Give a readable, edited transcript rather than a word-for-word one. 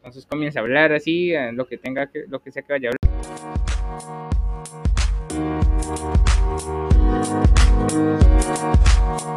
Entonces comienza a hablar así, lo que tenga que, lo que sea que vaya a hablar.